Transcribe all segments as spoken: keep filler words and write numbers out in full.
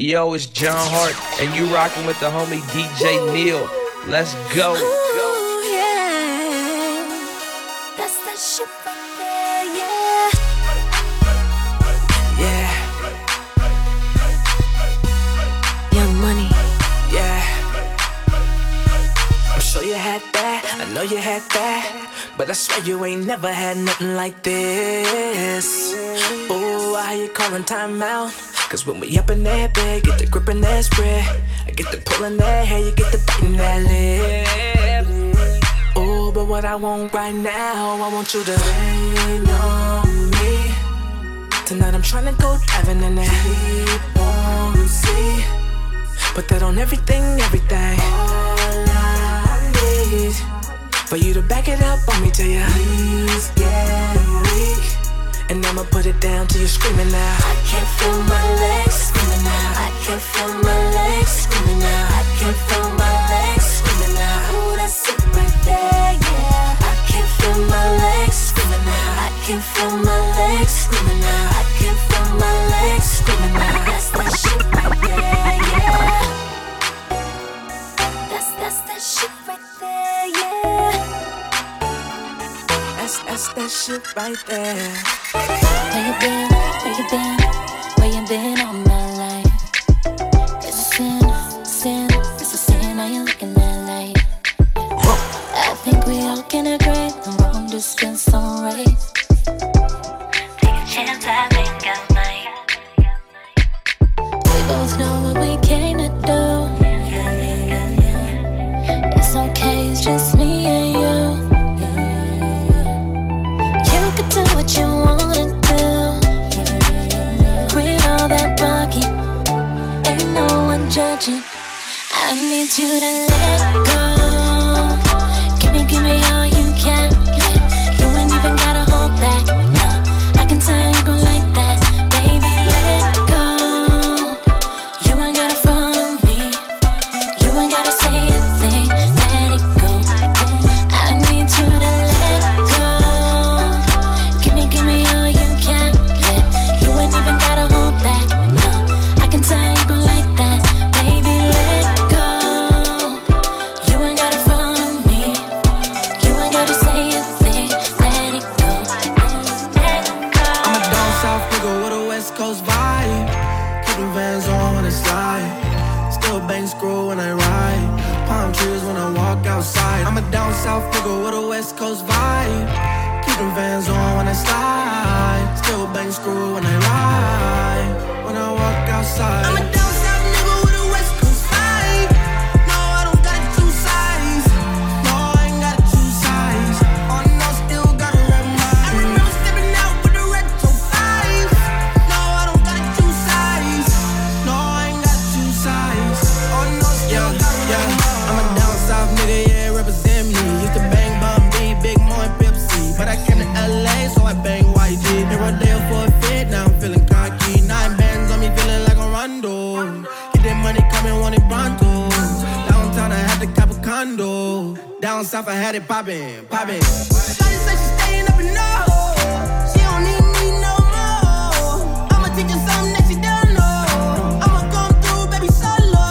Yo, it's John Hart, and you rockin' with the homie D J Neil. Let's go. Ooh, yeah. That's that shit right there, yeah. Yeah. Young Money, yeah. I'm sure you had that, I know you had that, but I swear you ain't never had nothing like this. Ooh, I hear you calling time out, cause when we up in that bed, get the grip in that spread, I get the pulling that hair, you get the biting that lip. Ooh, but what I want right now, I want you to rain on me. Tonight I'm tryna go diving in that deep warm sea. Put that on everything, everything. All I need for you to back it up on me till your knees get weak. And I'ma put it down till you're screaming now. I can't feel my legs screaming now. I can't feel my legs screaming now. I can't feel my legs screaming now. Ooh, that's it right there, yeah. I can't feel my legs screaming now. I can't feel my legs screaming now. I can't feel my legs screaming now. That's that shit right there, yeah. That's that's that shit right there, yeah. That's that's that shit right there. Where you been? Where you been? Where you been all my life? It's a sin, sin, it's a sin. Now you're looking at light. I think we all can agree the wrong distance on right. Take a chance, I think I might. We both know what we came to do. It's okay, it's just me and you. You can do what you wanna do. Quit all that talking, ain't no one judging. I need you to let go. Give me, give me all you can. You ain't even gotta hold back. No, I can tell you gon' like that. Baby, let go. You ain't gotta follow me. You ain't gotta say a thing. Let it go. I need you to let go. Give me, give me all you can. You ain't even gotta hold back. No, I can tell you gon' like that. Baby, let go. You ain't gotta follow me. You ain't gotta say a thing. Let it go. Let go. I'm a down south nigga with a west coast vibe. Keep them Vans on when I slide. Still bang screw when I ride. Palm trees when I walk outside. I'm a down south nigga with a west coast vibe. Keep them Vans on when I slide. Still bang screw when I ride. When I walk outside. I'm a down south nigga with a west coast vibe. No, I don't got two sides. No, I ain't got two sides. Oh no, still got a red mind. I remember stepping out with the retro five. No, I don't got two sides. No, I ain't got two sides. Oh no, still got a red mind. I'm a down south nigga, yeah, represent me. Used to bang Bun B, Big Mo and Pepsi. But I came to L A, so I bang Y G. Been Rodeo for a fit, now I'm feeling cocky. Nine bands on me, feeling like a Rondo. Get that money coming, want it pronto. Downtown, I had to cop a condo. Down south, I had it poppin', poppin'. Shawty say she staying up in North. She don't need me no more. I'ma teach her something that she don't know. I'ma come through, baby, solo.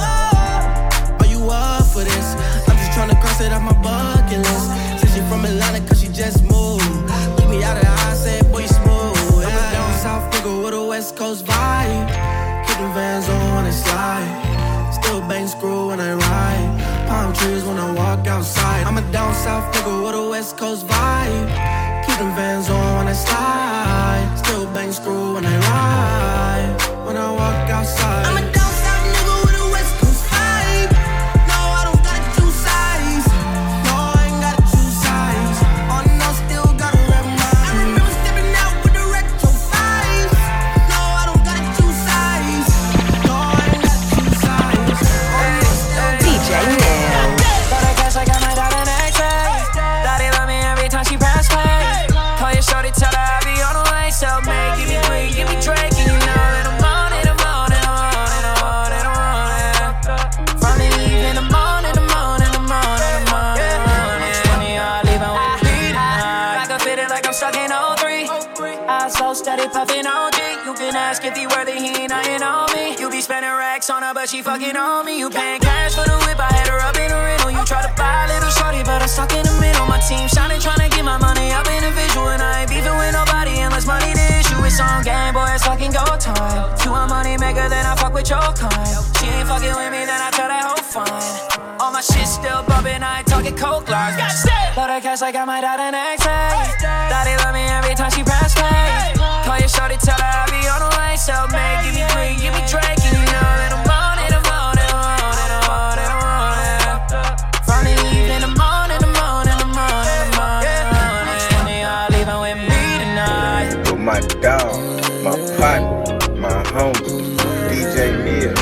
Are you up for this? I'm just tryna cross it off my bucket list. Said she from Atlanta cause she just moved. Took me out of the eye, said boy you smooth. I'm a down south nigga with a west coast vibe. Keep them Vans on when I slide. Still bang screw when I ride. Palm trees when I walk outside. I'm a down south nigga with a west coast vibe. Keep them Vans on when I slide. Still bang screw when I ride. When I walk outside. I'm a down south nigga with a west coast vibe. No, I don't got two sides. No, I ain't got two sides. Oh no, still got a red mind. I remember stepping out with the retro five. No, I don't got two sides. No, I ain't got two sides. Oh no, still D J Neil. Got a cash, I got my dot in X-ray. Daddy love me every time she press play. Call your shorty, tell her I be on the way. Self-made, give me green, give me Drake. And you know that I'm on it, I'm on it, I'm on it, I'm on it, I'm on it. From the evening, I'm on it, I'm on it, I'm on it, I'm on it, I'm on it. Money, I leave, I won't beat it. I can fit it like I'm stuck in oh three. I so steady puffin' O G. You can ask if he worthy, he ain't nothing on me. You be spending racks on her, but she fucking on me. You paying cash for the whip, I had her up in the rental. You try to buy a little shorty, but I'm stuck in the middle. My team shining, trying to get my money up in the visual. And I ain't beefing with nobody unless money the issue. It's on game, boy, it's fucking go time. You a money maker, then I fuck with your kind. She ain't fucking with me, then I tell that hoe fine. All my shit still bumping, I ain't talking coke lines. Love that cash like I might die the next day. Daddy love me every time she press play. Call your shorty, tell her I be on the way. Self-made, give me green, give me Drake. And you know that I'm on it, I'm on it, I'm on it, I'm on it, I'm on it. From the evening, I'm on it, I'm on it, I'm on it, I'm on it, I'm on it. Which one of y'all leaving with me tonight? With my dog, my partner, my homie, D J Neil.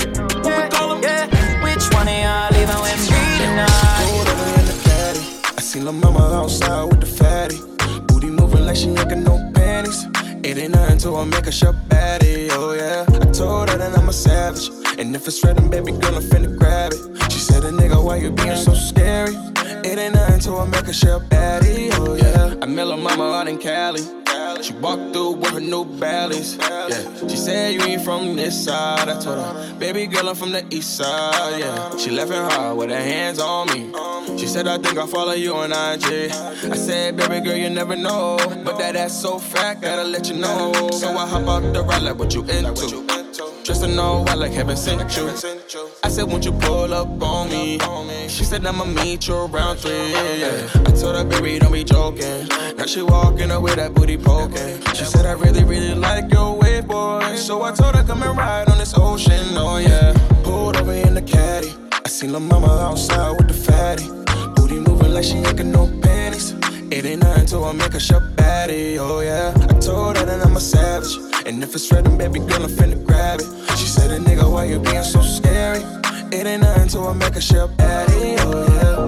Yeah, which one of y'all leaving with me tonight? Pulled over in the caddy. I seen lil' mama outside with the fatty. Booty moving like she ain't got no panties. It ain't nothing to her, make her shut baddie, oh yeah. I told her that I'm a savage, and if it's red, then baby girl, I'm finna grab it. She said, a nigga, why you being so scary? It ain't nothing to her, make her shut baddie, oh yeah. I met lil' mama out in Cali. She walked through with her new bellies. Yeah, she said you ain't from this side. I told her, baby girl, I'm from the east side. Yeah, she laughing hard with her hands on me. She said, I think I follow you on I G. I said, baby girl, you never know, but that ass so fat, gotta let you know. So I hop out the ride like what you into. Dressed in all white like heaven sent you. I said, won't you pull up on me? She said, I'ma meet you around three. Yeah. I told her, baby, don't be joking. Now she walking up with that booty poking. She said, I really, really like your wave, boy. So I told her, come and ride on this ocean, oh yeah. Pulled over in the caddy. I seen lil' mama outside with the fatty. Booty moving like she ain't got no panties. It ain't nothing to her, make her shut baddie, oh yeah. I told her that I'm a savage, and if it's red, then baby girl, I'm finna grab it. She said, a nigga, why you being so scary? It ain't nothing to her, make her shut baddie, oh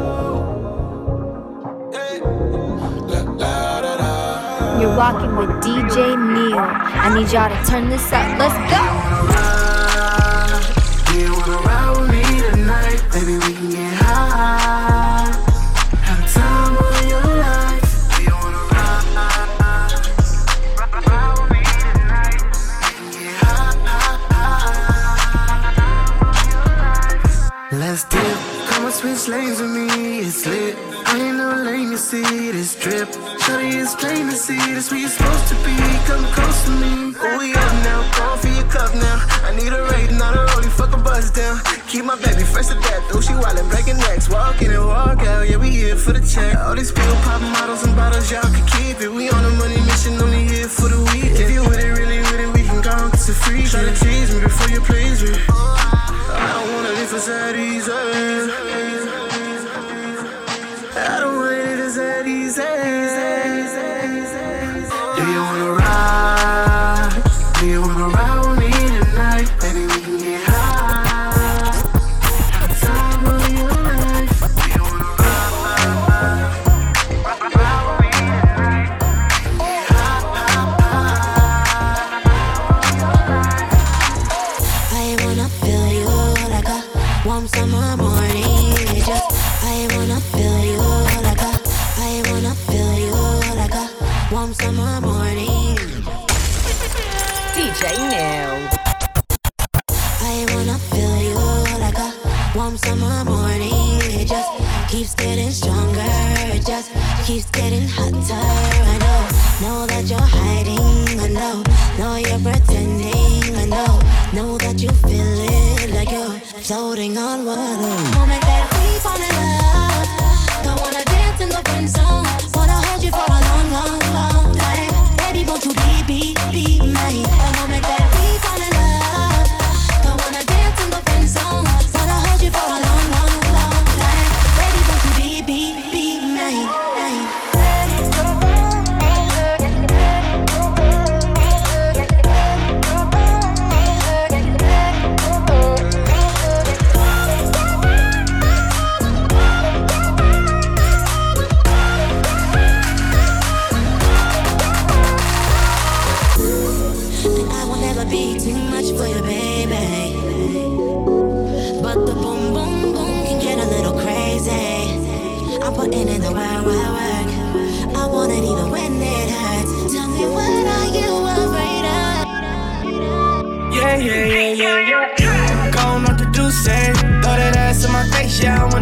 yeah. La, la, da, da. You're walking with D J Neil. I need y'all to turn this up. Let's go. Do you wanna ride with me tonight? Baby, we can get high. Have a time of your life. Do you wanna ride? Ride with me tonight. We can get high. Let's dip. Come on, switch lanes with me. It's lit. I ain't no lame, you see this drip. Shorty, it's plain to see this where you're supposed to be. Come close to me. Oh, we up now. Going for your cup now. I need a rate, not a rollie. Fuck a buzz down. Keep my baby fresh to death. Oh, she wildin', breaking necks. Walk in and walk out. Yeah, we here for the check. All these people poppin' models and bottles, y'all can keep it. We on a money mission, only here for the weekend. If you with it, really with it, we can go and get some free. Try to tease me before you please me. I don't wanna live for sad easy. I don't want it as that easy. Do you wanna ride? Do you wanna ride with me tonight? Baby, we can get high. Have a time of your life. Do you wanna ride? Ride with me tonight. Get high. I wanna feel you like a warm summer morning. Just I wanna feel you like a, I wanna feel you like a warm summer morning. D J Neil. I wanna feel you like a warm summer morning. It just keeps getting stronger. It just keeps getting hotter. I know, know that you're hiding. I know, know you're pretending. I know, know that you feel it like you're floating on water. Moment that we fall in love. Don't wanna dance in the friend zone. Wanna hold you for a long, long, long time. Baby, won't you be, be, be mine? The moment that we fall in love. Don't wanna dance in the friend zone. Wanna hold you for a long, long, long time. Baby, won't you be, be, be mine? Be too much for you, baby. But the boom, boom, boom can get a little crazy. I'm putting in the wild, wild work. I want it even when it hurts. Tell me, what are you afraid of? Yeah, yeah, yeah, yeah, yeah.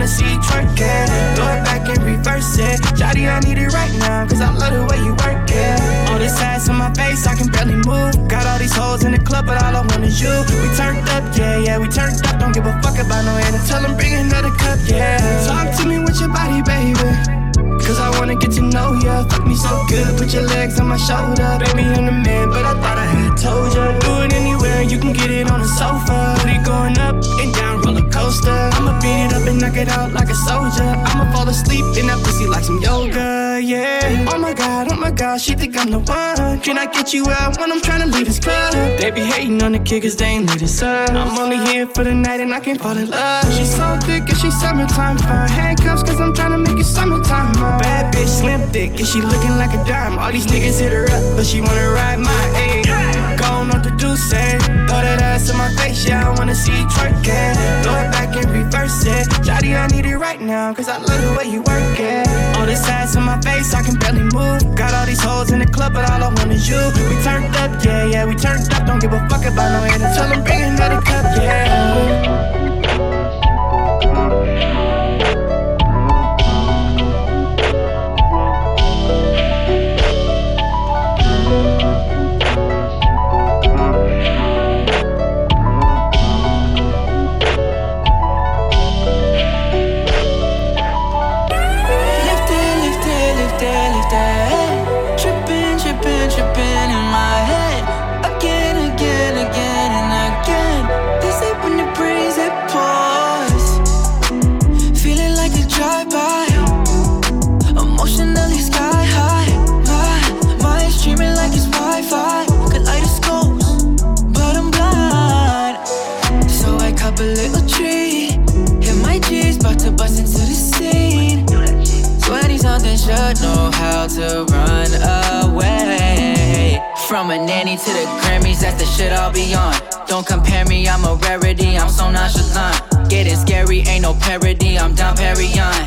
wanna see you twerking. Throw it back and reverse it. Shawty, I need it right now, cause I love the way you work it. All this ass on my face, I can barely move. Got all these hoes in the club, but all I want is you. We turned up, yeah, yeah, we turned up. Don't give a fuck about no end. Tell them bring another cup, yeah. Talk to me with your body, baby, cause I wanna get to know ya. Fuck me so good, put your legs on my shoulder. Baby, I'm the man, but I thought I had told ya. Do it anywhere, you can get it on the sofa. Booty going up and down, roller coaster. I'ma beat it up and knock it out like a soldier. I'ma fall asleep in that pussy like some yoga, yeah. Oh my god, oh my god, she think I'm the one. Can I get you out when I'm tryna leave this club? They be hating on the kid cause they ain't lead us up. I'm only here for the night and I can't fall in love. She's so thick and she's summertime fine. Handcuffs cause I'm tryna make it summertime. Bad bitch, slim thick, and she looking like a dime. All these niggas hit her up, but she wanna ride my age. Gone on the deuce, throw that ass in my face, yeah, I wanna see you twerking. Throw it back and reverse it. Shawty, I need it right now, cause I love the way you work it. All this ass in my face, I can barely move. Got all these hoes in the club, but all I want is you. We turned up, yeah, yeah, we turned up. Don't give a fuck about no end. Tell them bring another cup, yeah. Know how to run away. From a nanny to the Grammys, that's the shit I'll be on. Don't compare me, I'm a rarity, I'm so nonchalant. Getting scary, ain't no parody, I'm Dom Perignon.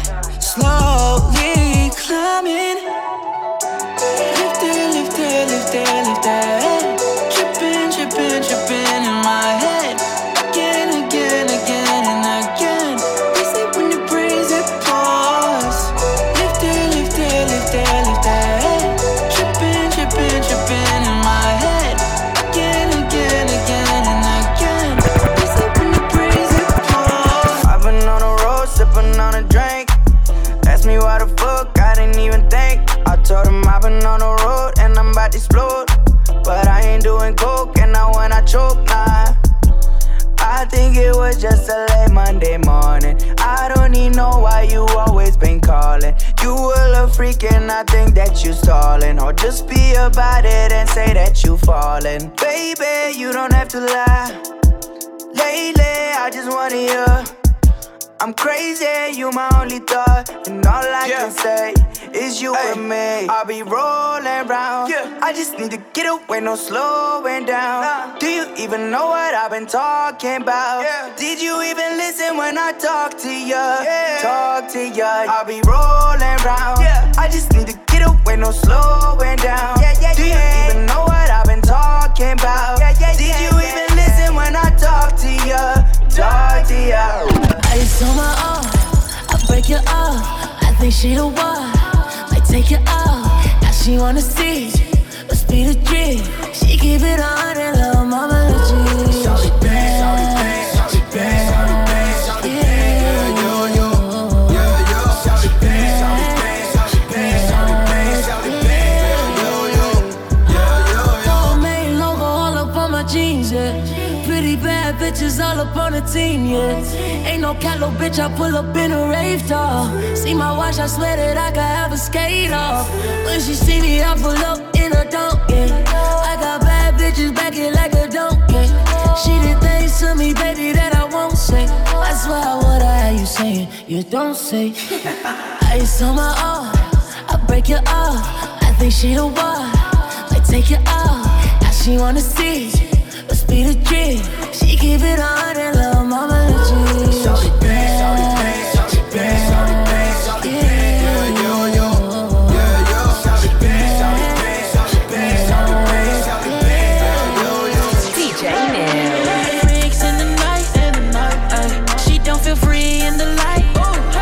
Slowly climbing. Lift it, lift it, lift it, lift it. Trippin', trippin', trippin' in my head. Again, again, again, and again. They say when you praise it, pause. Lift it, lift it, lift it, lift it. Trippin', trippin', trippin' in my head. Again, again, again, and again. They say when you praise it, pause. I've been on the road, sippin' on a drink. Ask me why the fuck, I didn't even think. I told him I've been on the road and I'm about to explode. But I ain't doing coke and now when I choke, nah. I think it was just a late Monday morning. I don't even know why you always been calling. You were a freak and I think that you stalling. Or just be about it and say that you falling. Baby, you don't have to lie. Lately, I just wanna hear I'm crazy, you my only thought. And all I yeah. can say is you hey. and me. I'll be rolling round, yeah. I just need to get away, no slowing down. nah. Do you even know what I've been talking about? Yeah. Did you even listen when I talk to ya? Yeah. Talk to ya. I'll be rolling round, yeah. I just need to get away, no slowing down. yeah, yeah, Do you yeah. even know what I've been talking about? yeah, yeah, Did yeah, you yeah. even listen when I talk to ya? Talk to ya. Ice on my arm, I break your arm. I think she the one, might take you out. Now she wanna see, must be the dream. She keep it on and love mama legit. Shawty bang, shawty bang, shawty bang, shawty bang, shawty bang, yeah, yo, yo, yeah, yo. Shawty bang, shawty bang, shawty bang, shawty bang, shawty bang, yo, yo, yeah, yo, yo. Main logo all up on my jeans, yeah. Pretty bad bitches all up on the team, yeah. Ain't no cat, little bitch, I pull up in a rave top. See my watch, I swear that I could have a skate off. When she see me, I pull up in a dunk, yeah. I got bad bitches back it like a dunk, yeah. She did things to me, baby, that I won't say. I swear what I have you saying, you don't say. Ice on my arm, I break your arm. I think she the one, might take you out. Now she wanna see, must be the dream. She keep it on and love mama legit. Shawty bang, shawty bang, shawty bang, shawty bang, shawty bang, yeah, yo, yo, yeah, yo. Shawty bang, shawty bang, shawty bang, shawty bang, shawty bang, yeah, yo, yo. D J Neil. Freaks in the night, in the night, ay. She don't feel free in the light.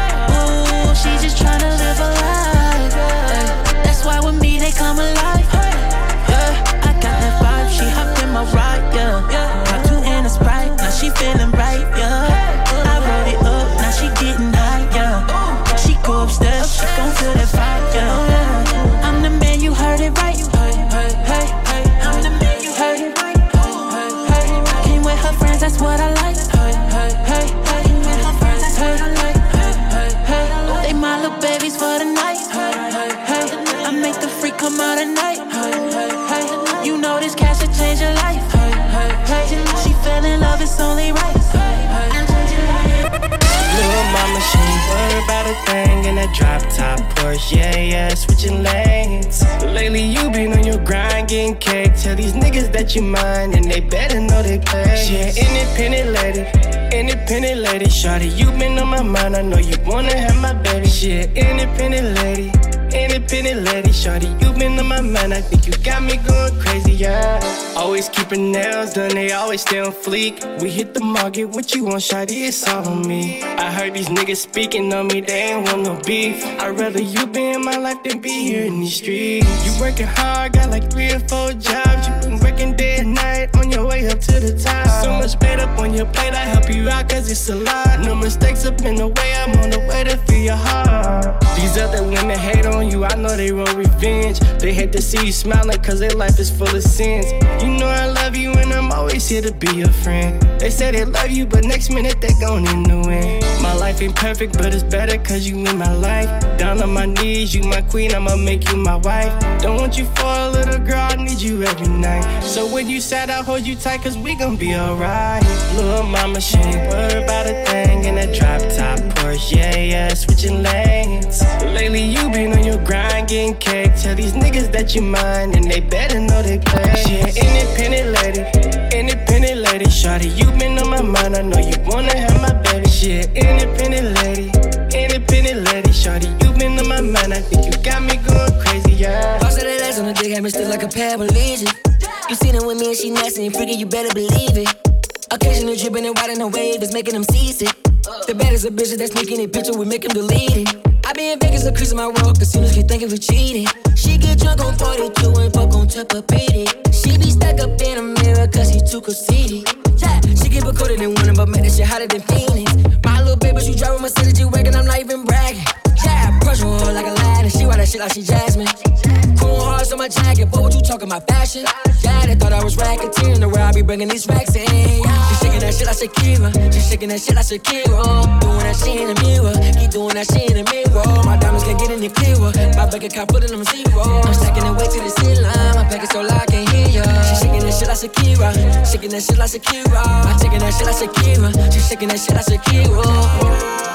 that drop top Porsche, yeah, yeah, switching lanes. Lately you been on your grind, getting cake. Tell these niggas that you mine, and they better know they play. She an independent lady, independent lady. Shawty, you been on my mind, I know you wanna have my baby. She an independent lady, independent lady. Shawty, you been on my mind, I think you got me going crazy, yeah. Always keeping nails done, they always stay on fleek. We hit the market, what you want, shawty, it's all on me. I heard these niggas speaking on me, they ain't want no beef. I'd rather you be in my life than be here in these streets. You working hard, got like three or four jobs. You been working day and night on your way up to the top. So much paid up on your plate, I help you out cause it's a lot. No mistakes up in the way, I'm on the way to feel your heart. These other women hate on you, I know they want revenge. They hate to see you smiling cause their life is full of sins. You know I love you and I'm always here to be your friend. They say they love you but next minute they gon' end the win. My life ain't perfect but it's better cause you in my life. Down on my knees, you my queen, I'ma make you my wife. Don't want you for a little girl, I need you every night. So when you sad, I'll hold you tight cause we gon' be alright. Little mama, she ain't worried about a thing. In that drop top Porsche, yeah, yeah, switching lanes. Lately you been on your grind, getting cake. Tell these niggas that you mine, and they better know they play. She an independent lady, independent lady. Shawty, you been on my mind, I know you wanna have my baby. She an independent lady, independent lady. Shawty, you been on my mind, I think you got me going crazy, yeah. Boss of the legs on the dick, had me still like a paraplegic. You seen her with me and she nasty and freaky, you better believe it. Occasionally dripping and riding a wave is making them seasick. The baddest of bitches that's sneaking a picture, we make them delete it. I be in Vegas, increasing my world, casinos keep thinking we cheating. She get drunk on forty-two and fuck on Tempur-Pedic. She be stuck up in a mirror cause she too conceited. Yeah, she get recorded in winter, but man, that shit hotter than Phoenix. My little baby, she driving my city G-Wagon, I'm not even bragging. Yeah, brush on her like a lad, and she ride that shit like she Jasmine. Cool hearts on my jacket, boy, what you talking about fashion? Yeah, they thought I was racketeering, the way I be bringing these racks in. Yeah. She shaking that shit like Shakira, she shaking that shit like Shakira. Doing that shit in the mirror, keep doing that shit in the mirror. My diamonds can't get any clearer, my bank account putting them zero. I'm stacking it way to the ceiling, my package so loud I can't hear ya. She shaking that shit like Shakira, shaking that shit like Shakira. I'm taking that shit like Shakira, she shaking that shit like Shakira.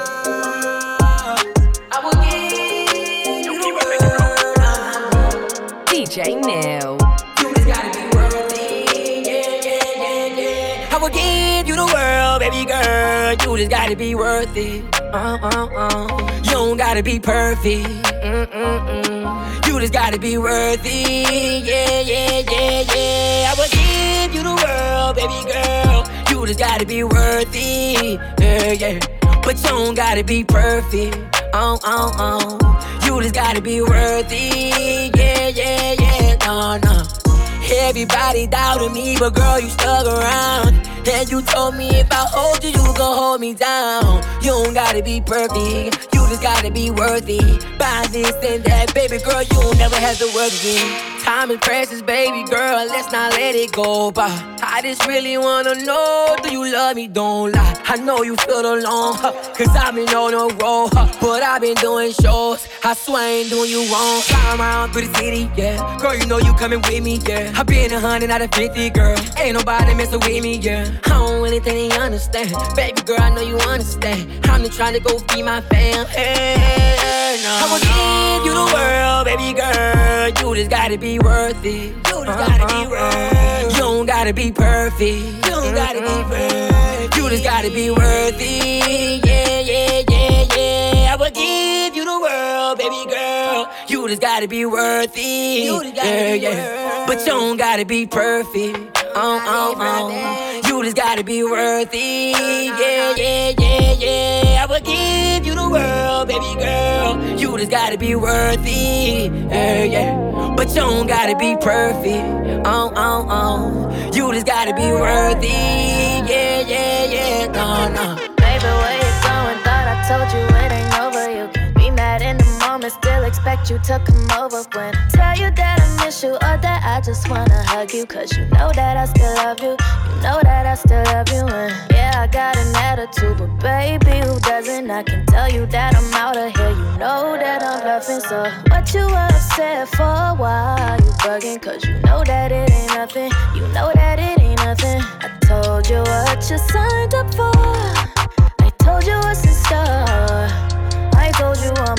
D J Neil. You just gotta be worthy, yeah, yeah, yeah, yeah. I will give you the world, baby girl. You just gotta be worth it. Uh, uh, uh. You don't gotta be perfect. Mm-mm-mm. You just gotta be worthy, yeah, yeah, yeah, yeah. I will give you the world, baby girl. You just gotta be worthy, yeah, yeah. But you don't gotta be perfect. Oh, oh, oh. You just gotta be worthy, yeah, yeah, yeah, no, no. Everybody doubted me, but girl, you stuck around. And you told me if I hold you, you gon' hold me down. You don't gotta be perfect, you just gotta be worthy. Buy this and that, baby girl, you don't never have to work again. Time is precious, baby girl, let's not let it go by. I just really wanna know, do you love me? Don't lie. I know you feel alone, huh, cause I've been on the road, huh, but I've been doing shows. I swear I ain't doing you wrong. Flying around through the city, yeah. Girl, you know you coming with me, yeah. I been a hundred out of fifty, girl. Ain't nobody messing with me, yeah. I don't really think they understand. Baby girl, I know you understand. I'm just trying to go feed my fam. Hey, hey, no, I will no. give you the world, baby girl. You just gotta be worth it. You just gotta be worth it. You don't gotta be perfect. You don't gotta be perfect. You just gotta be worthy. Yeah, yeah, yeah, yeah. I will give you the world, baby girl. You just gotta be worthy. You just gotta yeah, be yeah. But you don't gotta be perfect. Oh, oh, oh. You just gotta be worthy. Yeah, yeah, yeah, yeah. I will give you the world, baby girl. You just gotta be worthy. Yeah, yeah. But you don't gotta be perfect. Oh, oh, oh. You just gotta be worthy. Yeah, yeah, yeah. No, no. Baby, where you going? Thought I told you it ain't over. You can be mad in the moment, still expect you to come over. When I tell you that I miss you or that I just wanna hug you, cause you know that I still love you. You know that I still love you. And yeah, I got an attitude, but baby, who doesn't? I can tell you that I'm out of here. You know that I'm bluffing, so what you upset for? Why you bugging? Cause you know that it ain't nothing. You know that it ain't nothing. I told you what you signed up for. I told you what's in store. I told you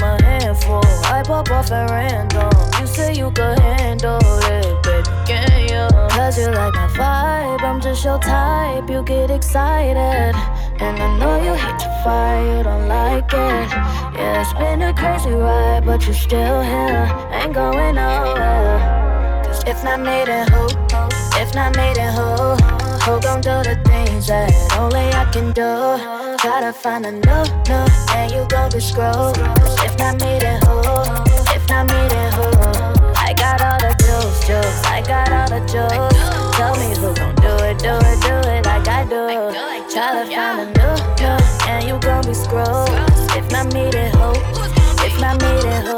like my vibe, I'm just your type. You get excited, and I know you hate to fight, you don't like it. Yeah, it's been a crazy ride, but you're still here, ain't going nowhere. Cause if not made it, who? If not made it, who? Who gon' do the things that only I can do? Try to find a new, new, and you gon' be screwed. Cause if not made it, who? If not made it, who? I got all the juice, juice, I got all the juice. Tell me who gon' do it, do it, do it like I do. Try to find a new, new, and you gon' be screwed. If not me, then who? If not me, then who?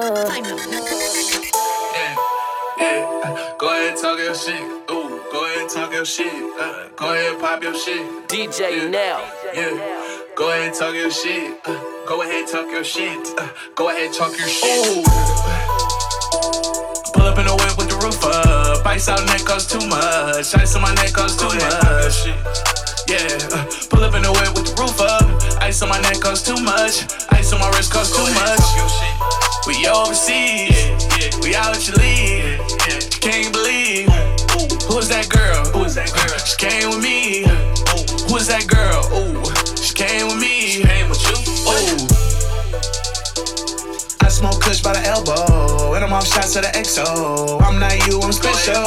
Yeah, yeah. Go ahead and talk your shit. Ooh, go ahead and talk your shit. Uh, go ahead and pop your shit. D J yeah. Now. Yeah. Go ahead and talk your shit. Uh, go ahead and talk your shit. Uh, go ahead and talk your shit. Ooh. Pull up in the whip with the roof up. Ice out neck costs too much. Ice on my neck costs too much. Yeah, uh, pull up in the whip with the roof up. Ice on my neck costs too much. Ice on my wrist costs too much. We overseas, we out at your league. She can't believe. Who is that girl? Who is that girl? She came with me. Who is that girl? Ooh, she came with me. She came with you. Ooh. I smoke kush by the elbow, and I'm off shots of the X O. I'm not you, I'm special.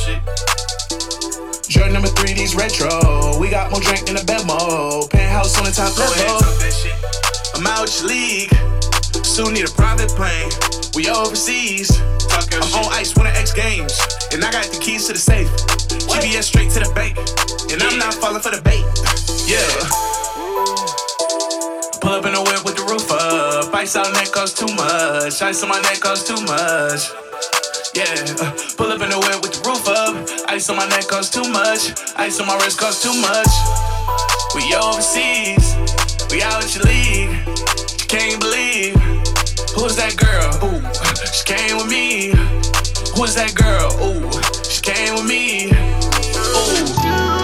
Jordan number three, these retro. We got more drink than a Bemo. Penthouse on the top level. I'm out your league. Soon need a private plane. We overseas. I'm on ice winning X Games, and I got the keys to the safe. G P S straight to the bank, and I'm not falling for the bait. Yeah. Pull up in the whip with the roof up. Ice out neck costs too much. Ice on my neck costs too much. Yeah. Uh, pull up in the whip with the roof up. Ice on my neck costs too much. Ice on my wrist costs too much. We overseas. We out at your league. You can't believe. Who's that girl? Ooh, she came with me. Who's that girl? Ooh, she came with me. Ooh.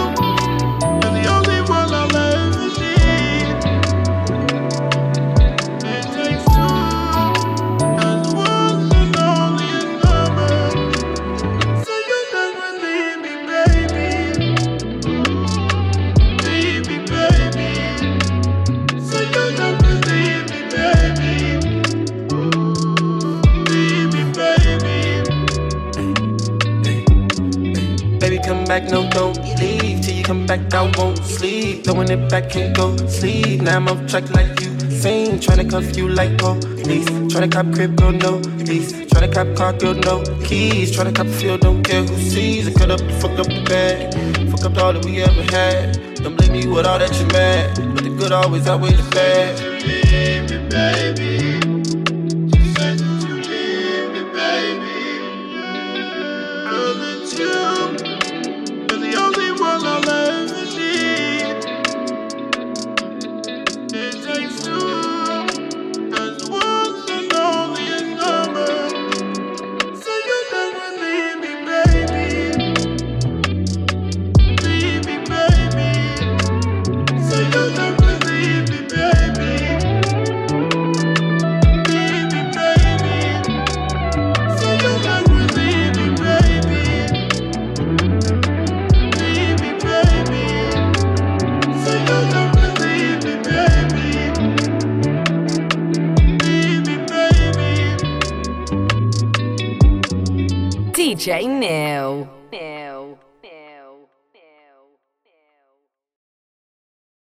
Back, no, don't leave till you come back. I won't sleep, throwing it back, can't go sleep. Now I'm off track like you sing, tryna cuff you like police. Tryna cop crib, girl, no lease. Tryna cop car, girl, no keys. Tryna cop a field, don't care who sees. I cut up, fuck up the bag, fuck up all that we ever had. Don't blame me with all that you mad, but the good always outweigh the bad. Leave me, baby. Just say that you leave me, baby. Girl, it's you. I'll ever need. It takes two, as one and only a number. So you never leave me, baby. Leave me, baby. So you never leave me, baby. Leave me, baby. So you never leave me, baby. D J Neil.